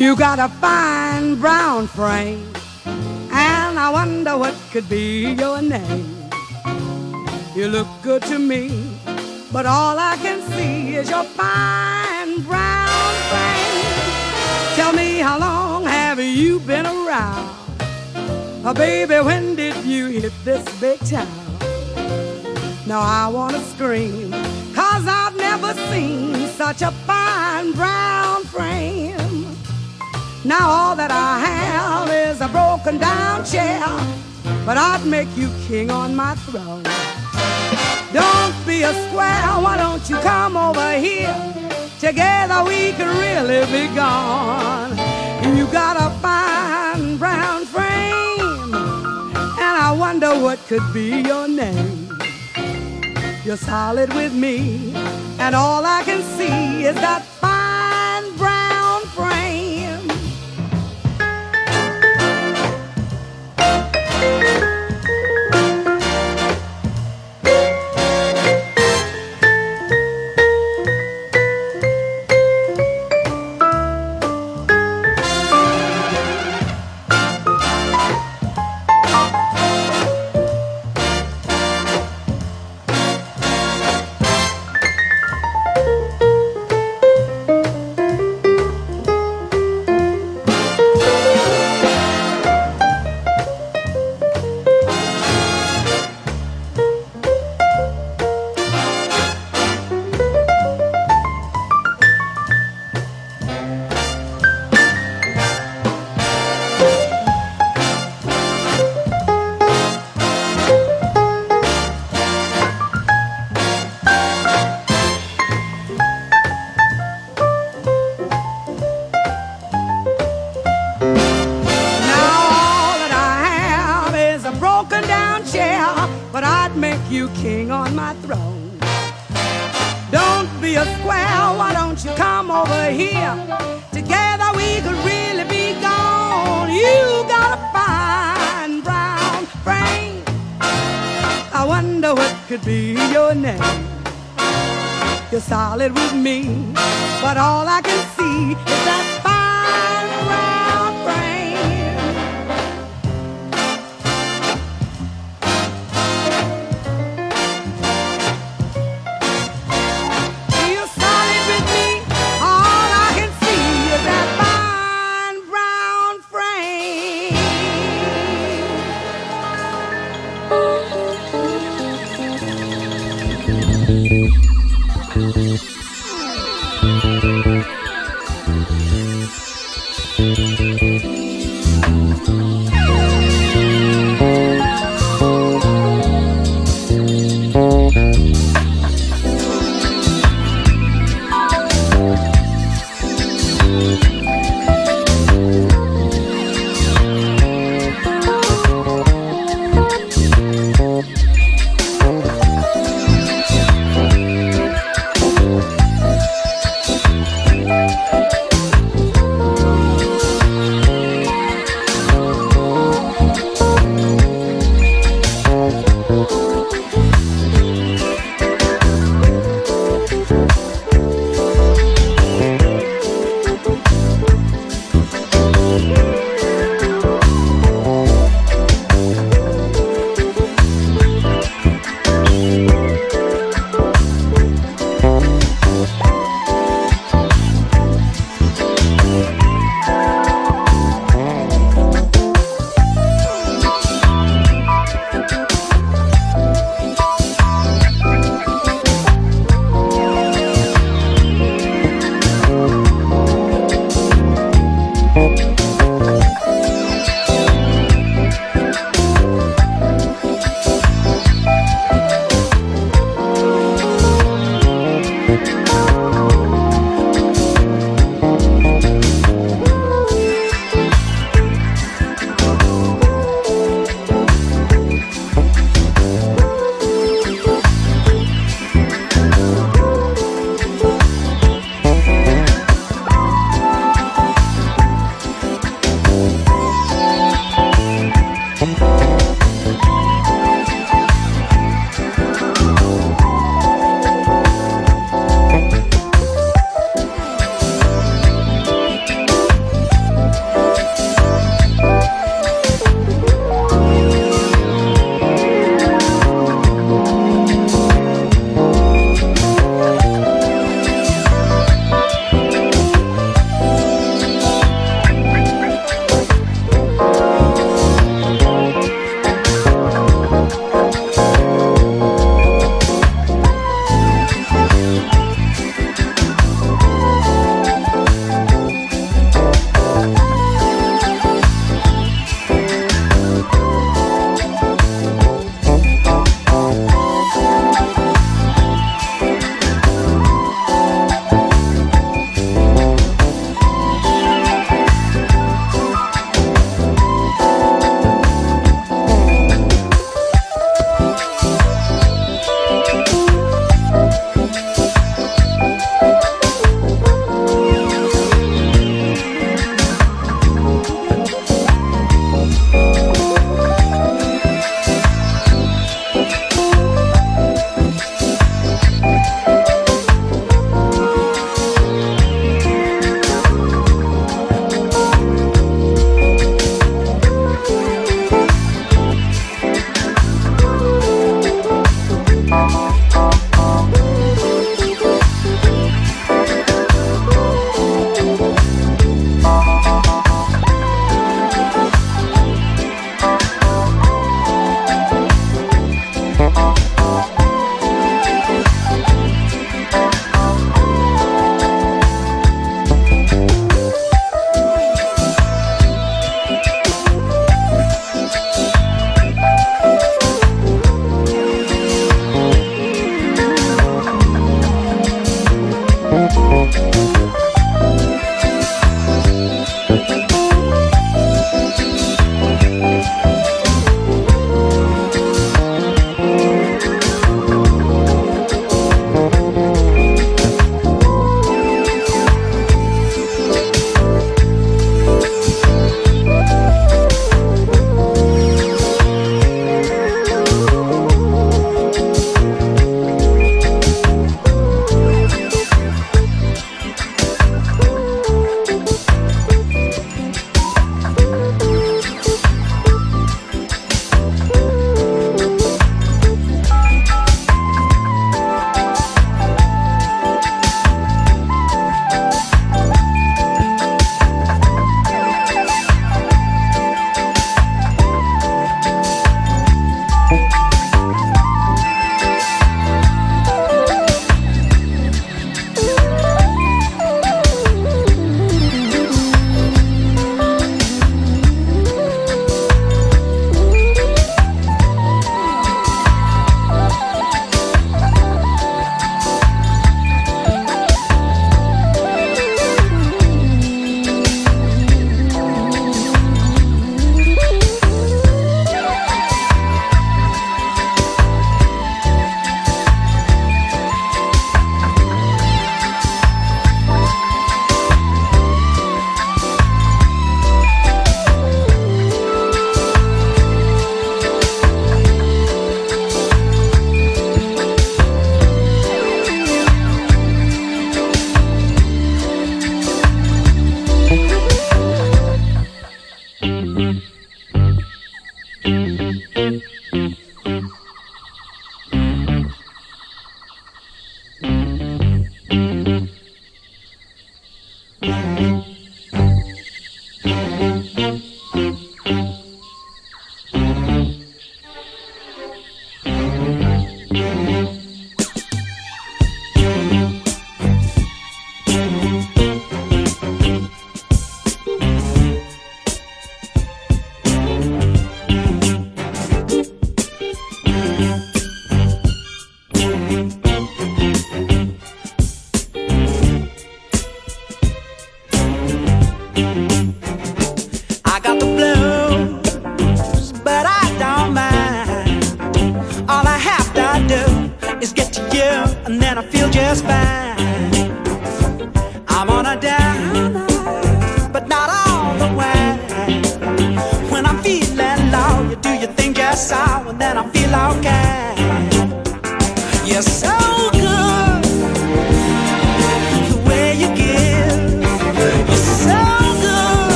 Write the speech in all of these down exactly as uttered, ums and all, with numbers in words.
You got a fine brown frame, and I wonder what could be your name. You look good to me, but all I can see is your fine brown frame. Tell me, how long have you been around? Oh, baby, when did you hit this big town? Now I wanna scream, 'cause I've never seen such a fine brown frame. Now all that I have is a broken down chair, but I'd make you king on my throne. Don't be a square, why don't you come over here? Together we can really be gone. You got a fine brown frame, and I wonder what could be your name. You're solid with me, and all I can see is that fine brown frame. Solid with me, but all I can see is that fine brown frame. You're solid with me, all I can see is that fine brown frame.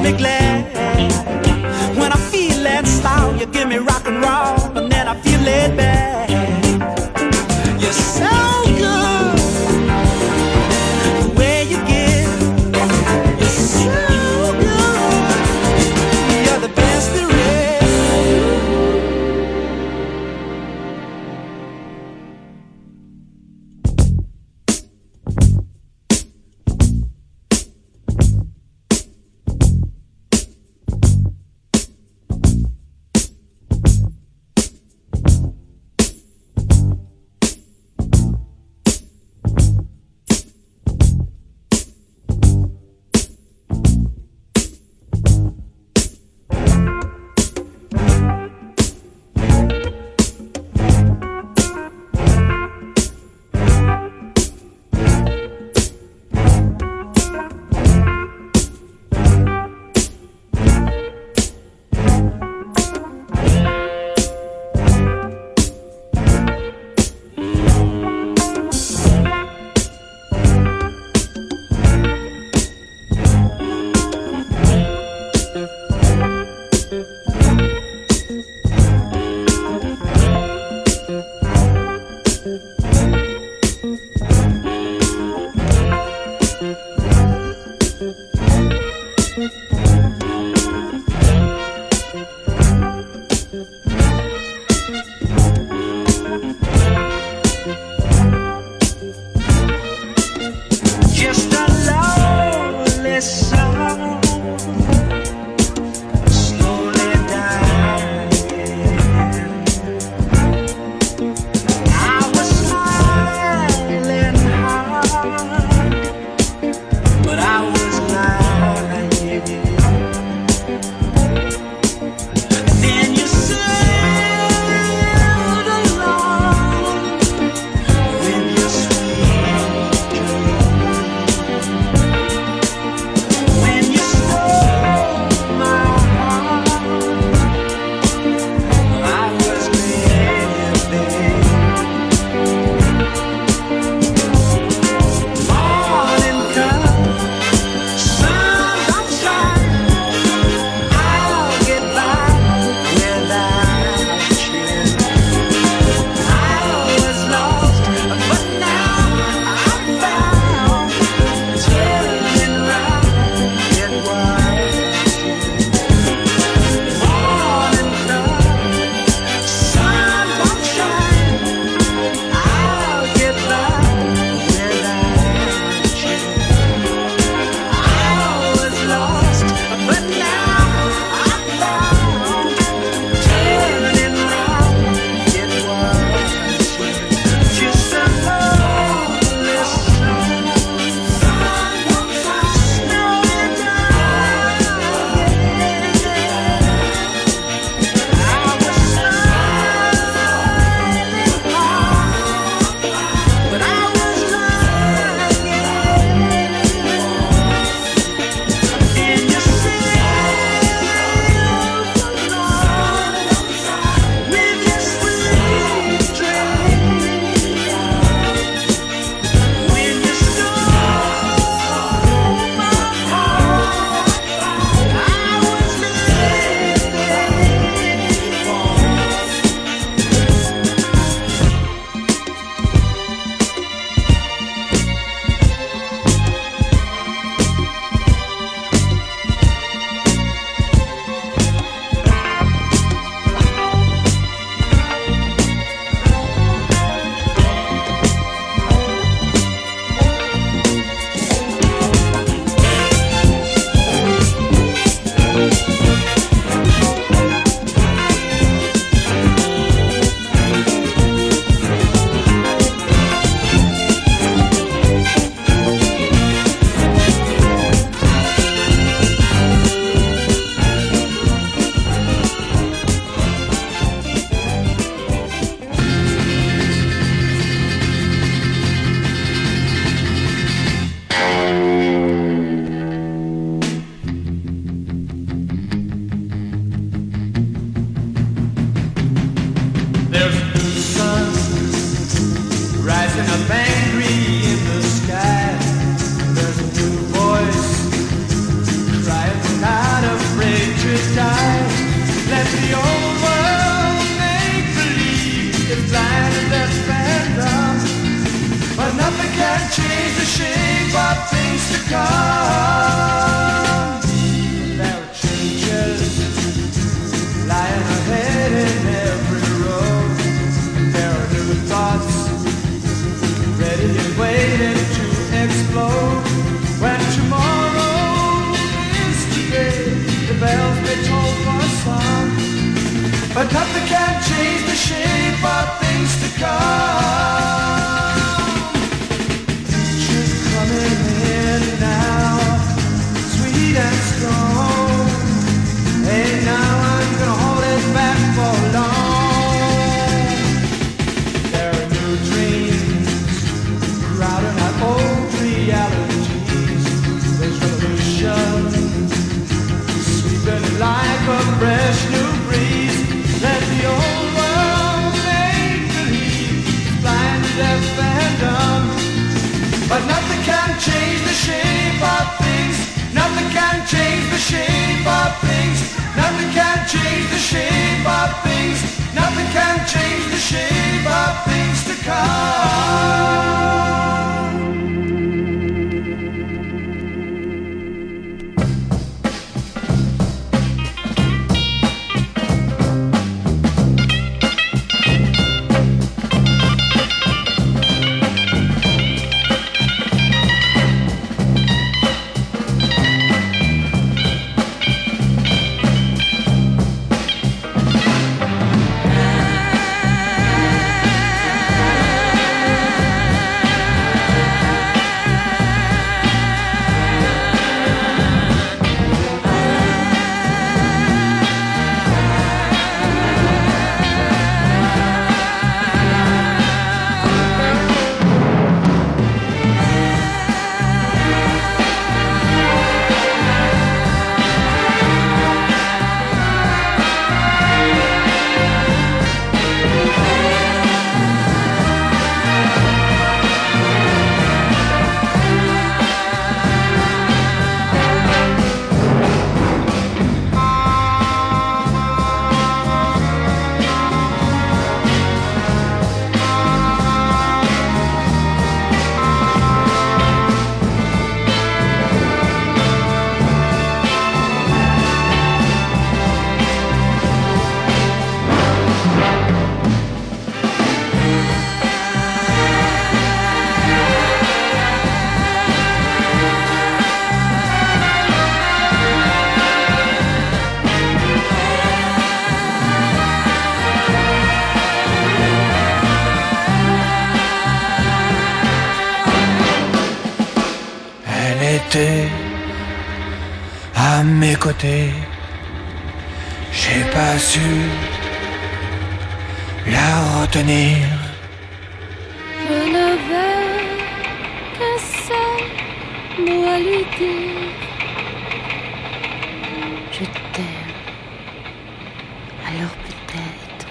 me glad. When I feel that style, you give me rock and roll, and then I feel laid back. You're so good, the way you give. You're so good, you're the best there is. Just a lonely song, slowly dying. I was smiling hard, but I was lying. Then you sailed along with your sweet dream. sweet and strong. Hey, now I'm gonna hold it back for long. There are new dreams crowding out old realities. There's revolution sweeping like a fresh new breeze. Let the old world make believe, blind, deaf, and dumb. But nothing can change the shape of things. Nothing can change the shape of things. Nothing can change the shape of things. Nothing can change the shape of things to come. À mes côtés, j'ai pas su la retenir. Je n'avais qu'un seul mot à lui dire. Je t'aime. Alors peut-être.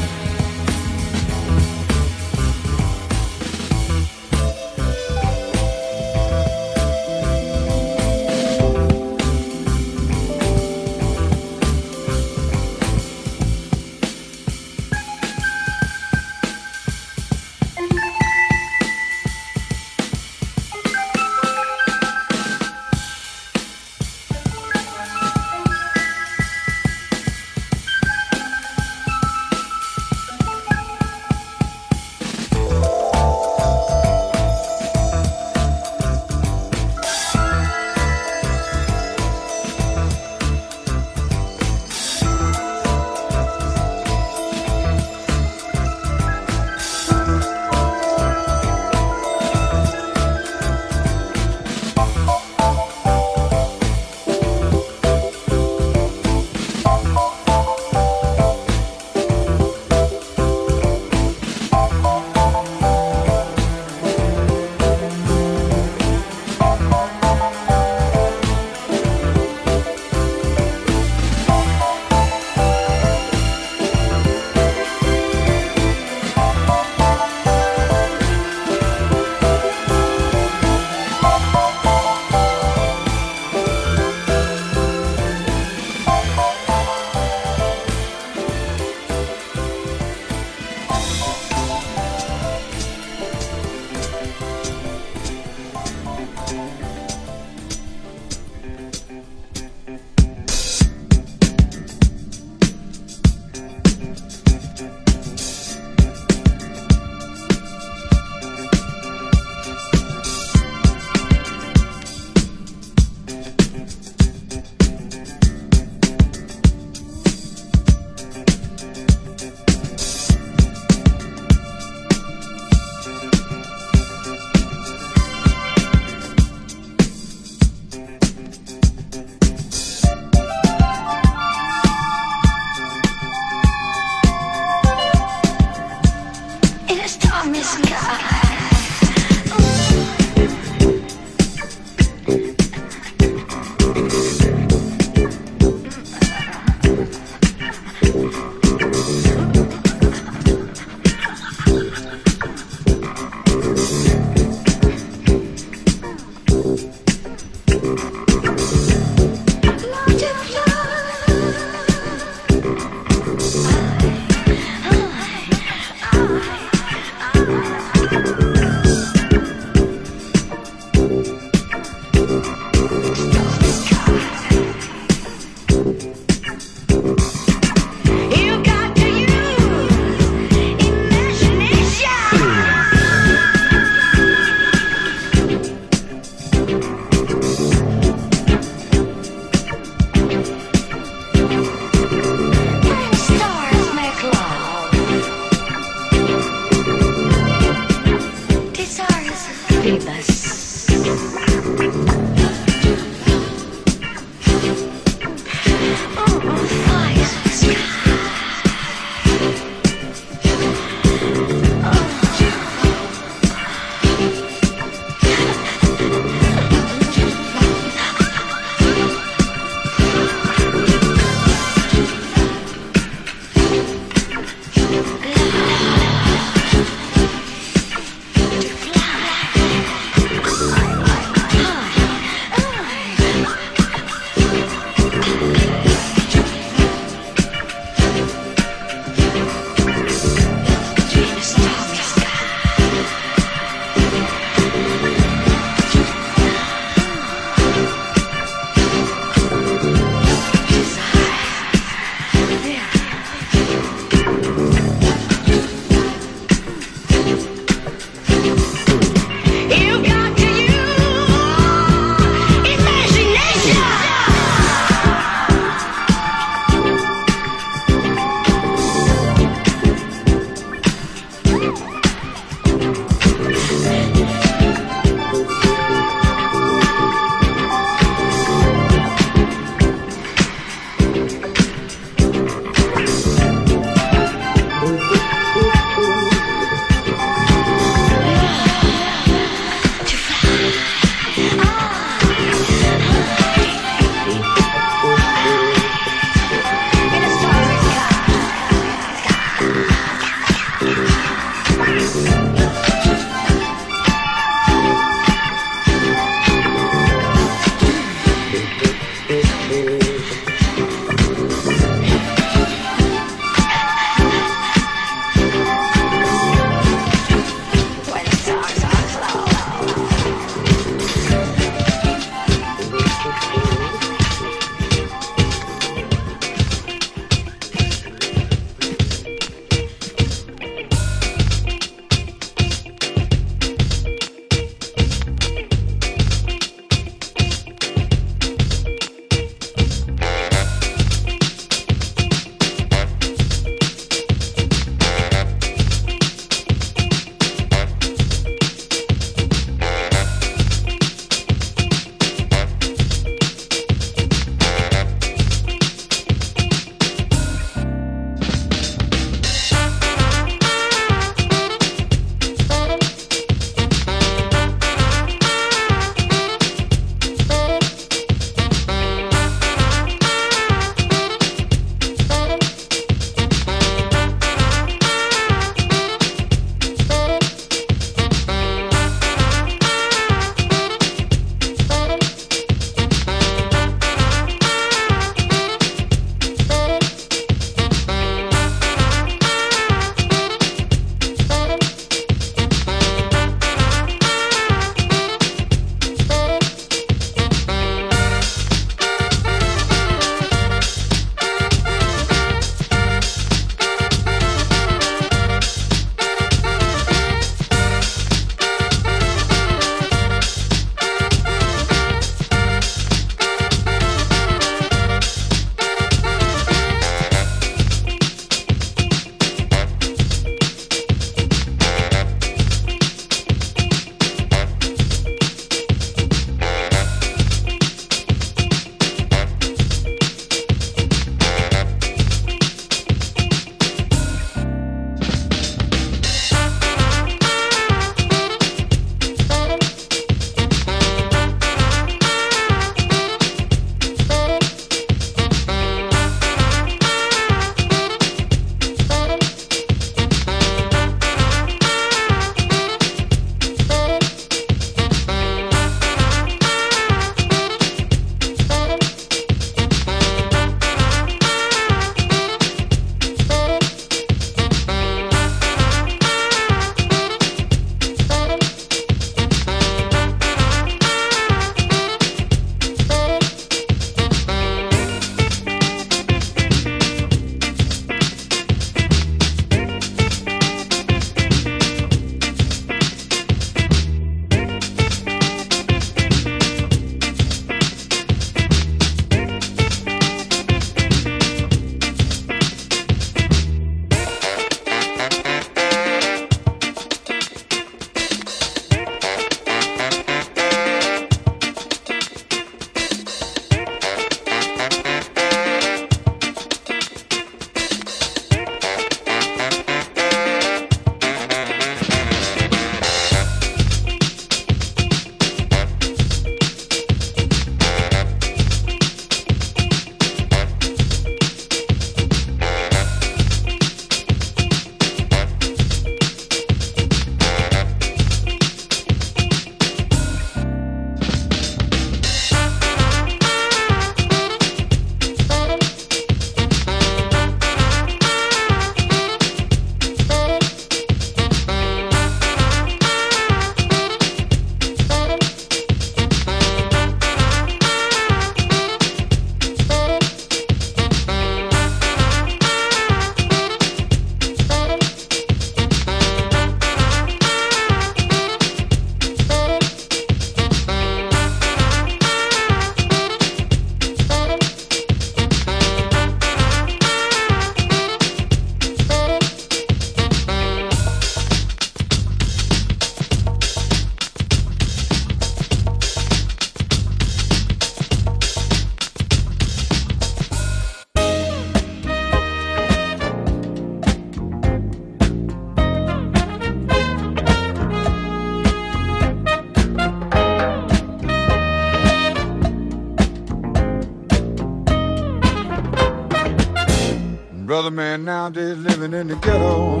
man nowadays living in the ghetto,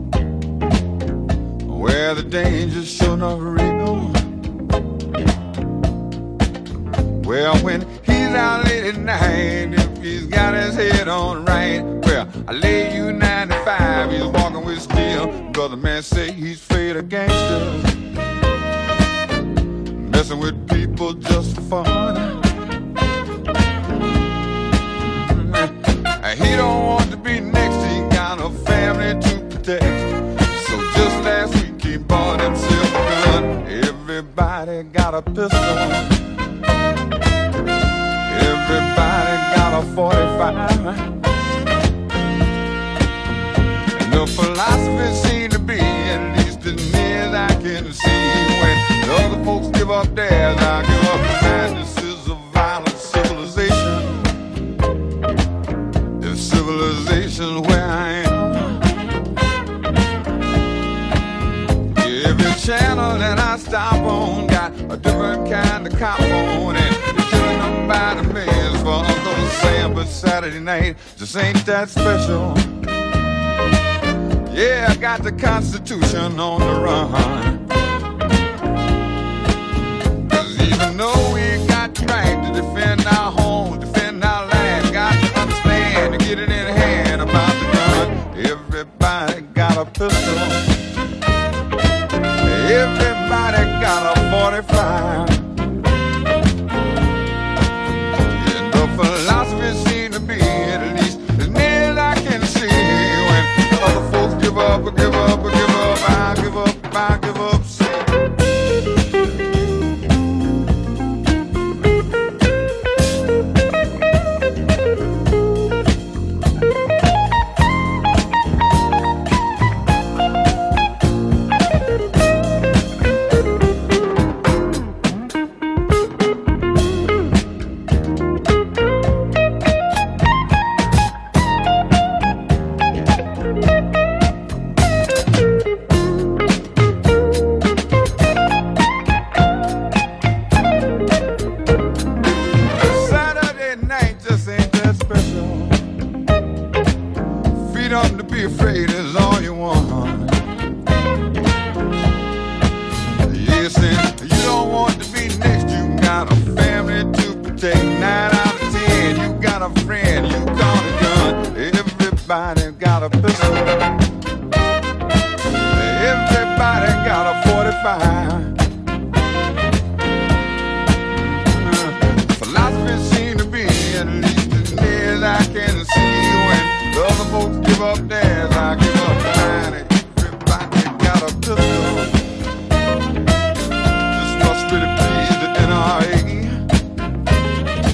where the danger's sure not real. Well, when he's out late at night, if he's got his head on right, well, I lay you ninety-five, he's walking with steel, because the man say he's afraid of gangsters, messing with people just for fun. He don't want to be next, he got a family to protect. So just last week he bought himself a gun. Everybody got a pistol, everybody got a forty-five. And the philosophy seemed to be, at least as near as I can see, when the other folks give up theirs, I give up the madnesses of violent civilization. Civilization where I am. Every channel that I stop on got a different kind of cop on, and they're killing them by the millions for Uncle Sam. But Saturday night just ain't that special. Yeah, I got the Constitution on the run. 'Cause even though we got the right to defend our home, defend our land, got to understand to get it in hand about the gun. Everybody got a pistol, everybody got a forty-five. And the philosophy seems to be, at least as near as I can see, when the other folks give up, give up, give up, I give up, I give up.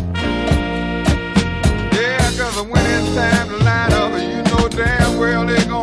When it's time to line up, you know damn well they're gonna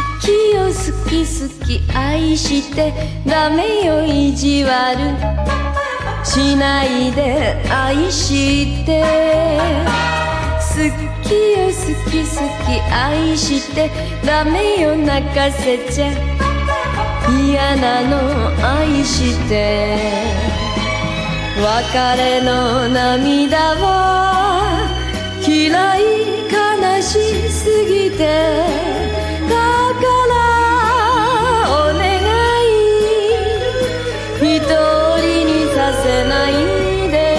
きよ好き好き愛してダメよ意地悪しないで愛して好きよ好き好き愛してダメよ泣かせちゃ嫌なの愛して別れの涙は嫌い悲しすぎてだからお願い一人にさせないで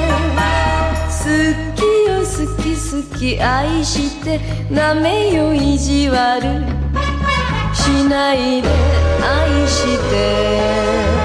好きよ好き好き愛してダメよ意地悪しないで愛して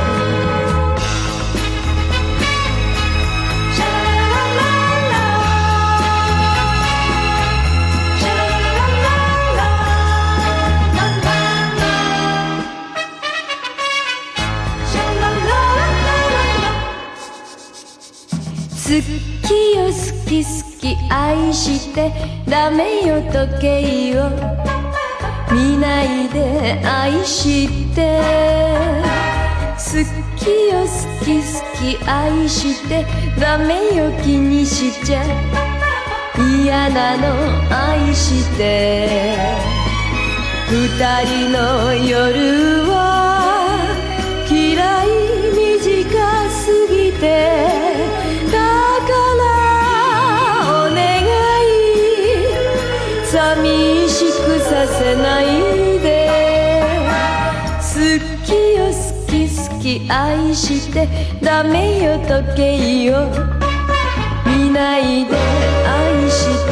好きよ好き好き愛してダメよ時計を見ないで愛して好きよ好き好き愛してダメよ気にしちゃ嫌なの愛して二人の夜は嫌い短すぎて寂しくさせないで好きよ好き好き愛してダメよ時計を見ないで愛して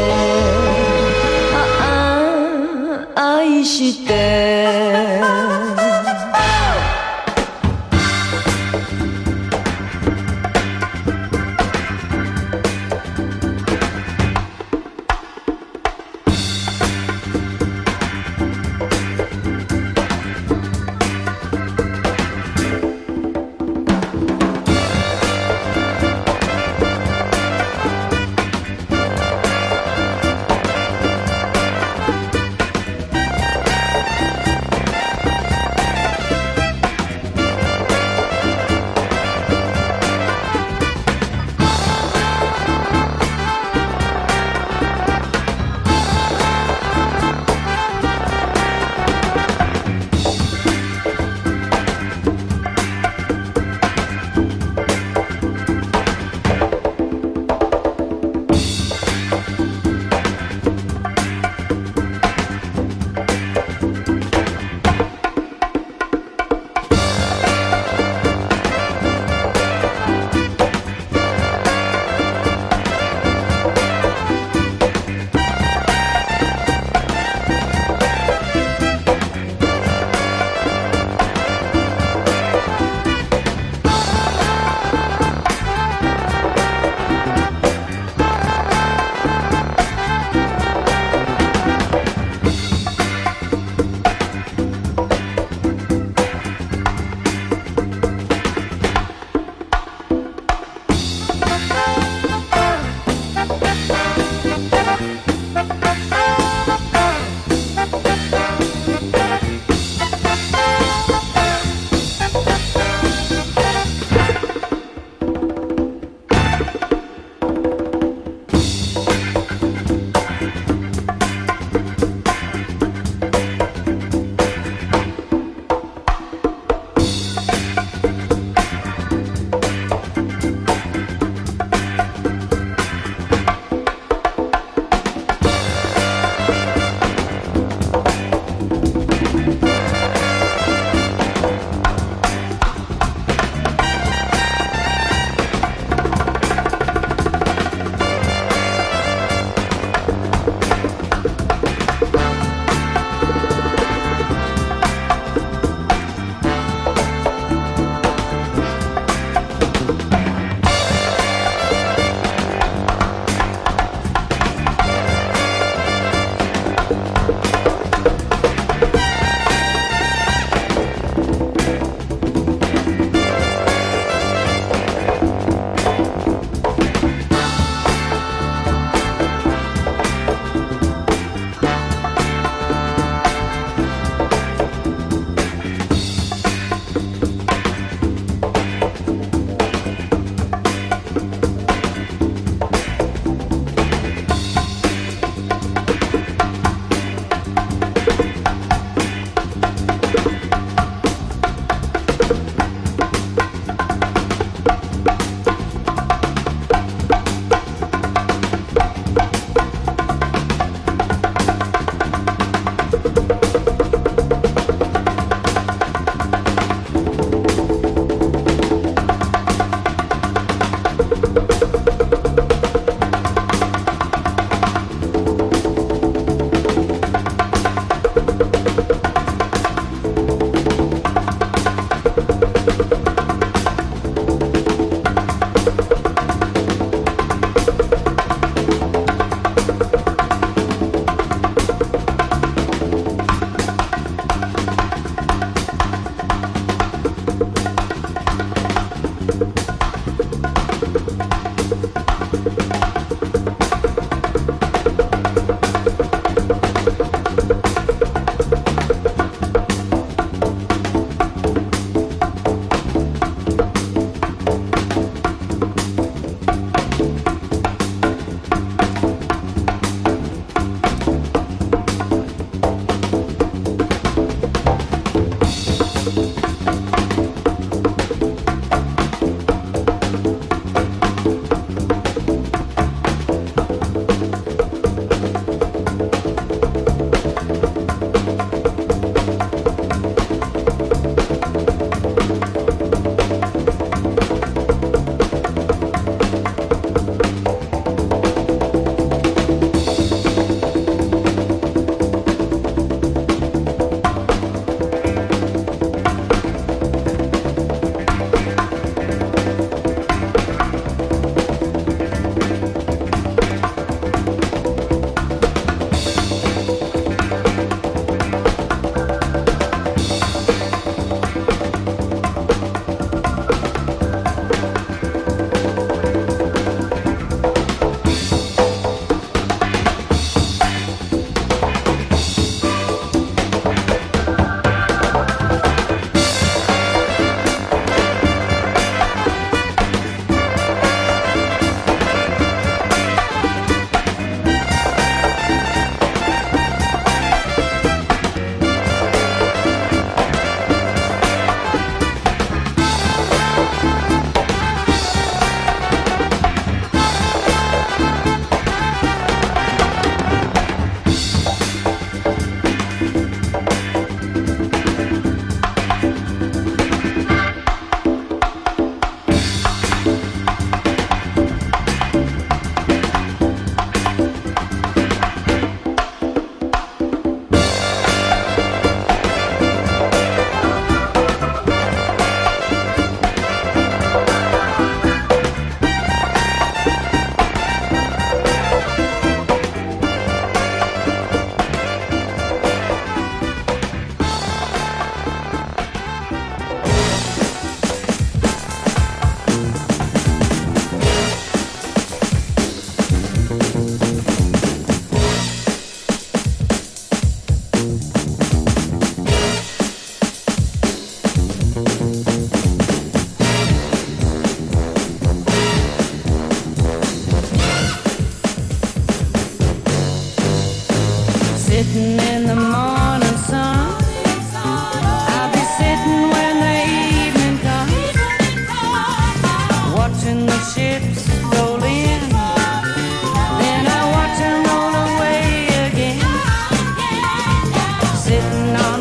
ああ愛して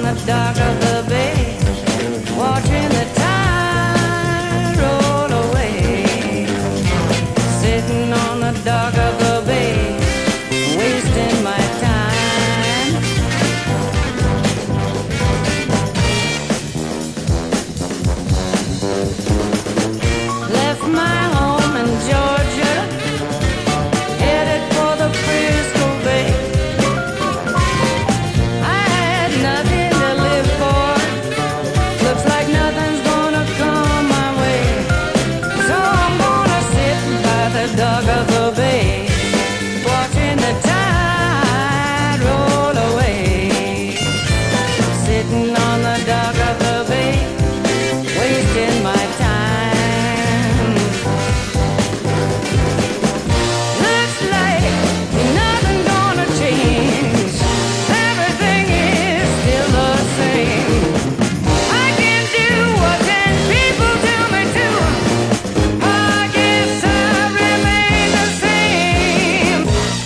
the dock of the bay, watching the tide roll away. Sitting on the dock of the bay, wasting my time. Left my home in Georgia, headed for the Frisco Bay. I had nothing to live for, looks like nothing's gonna come my way. So I'm gonna sit by the dock of the bay, watching the tide roll away. Sitting on the dock of the bay, wasting my time. Looks like nothing gonna change. Everything is still the same. I can do what ten people tell me to. I guess I remain the same.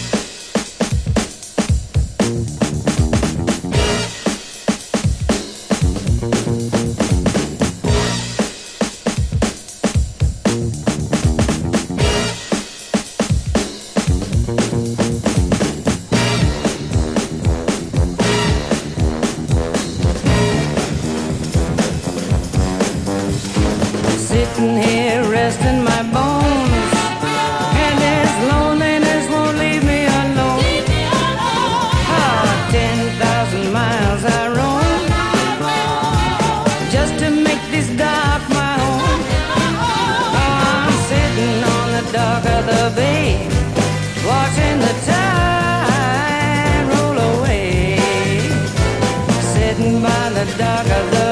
Sitting here resting my bones, and this loneliness won't leave me alone. Ah, ten thousand miles I roam, just to make this dock my home. Oh, I'm sitting on the dock of the bay, watching the tide roll away. Sitting by the dock of the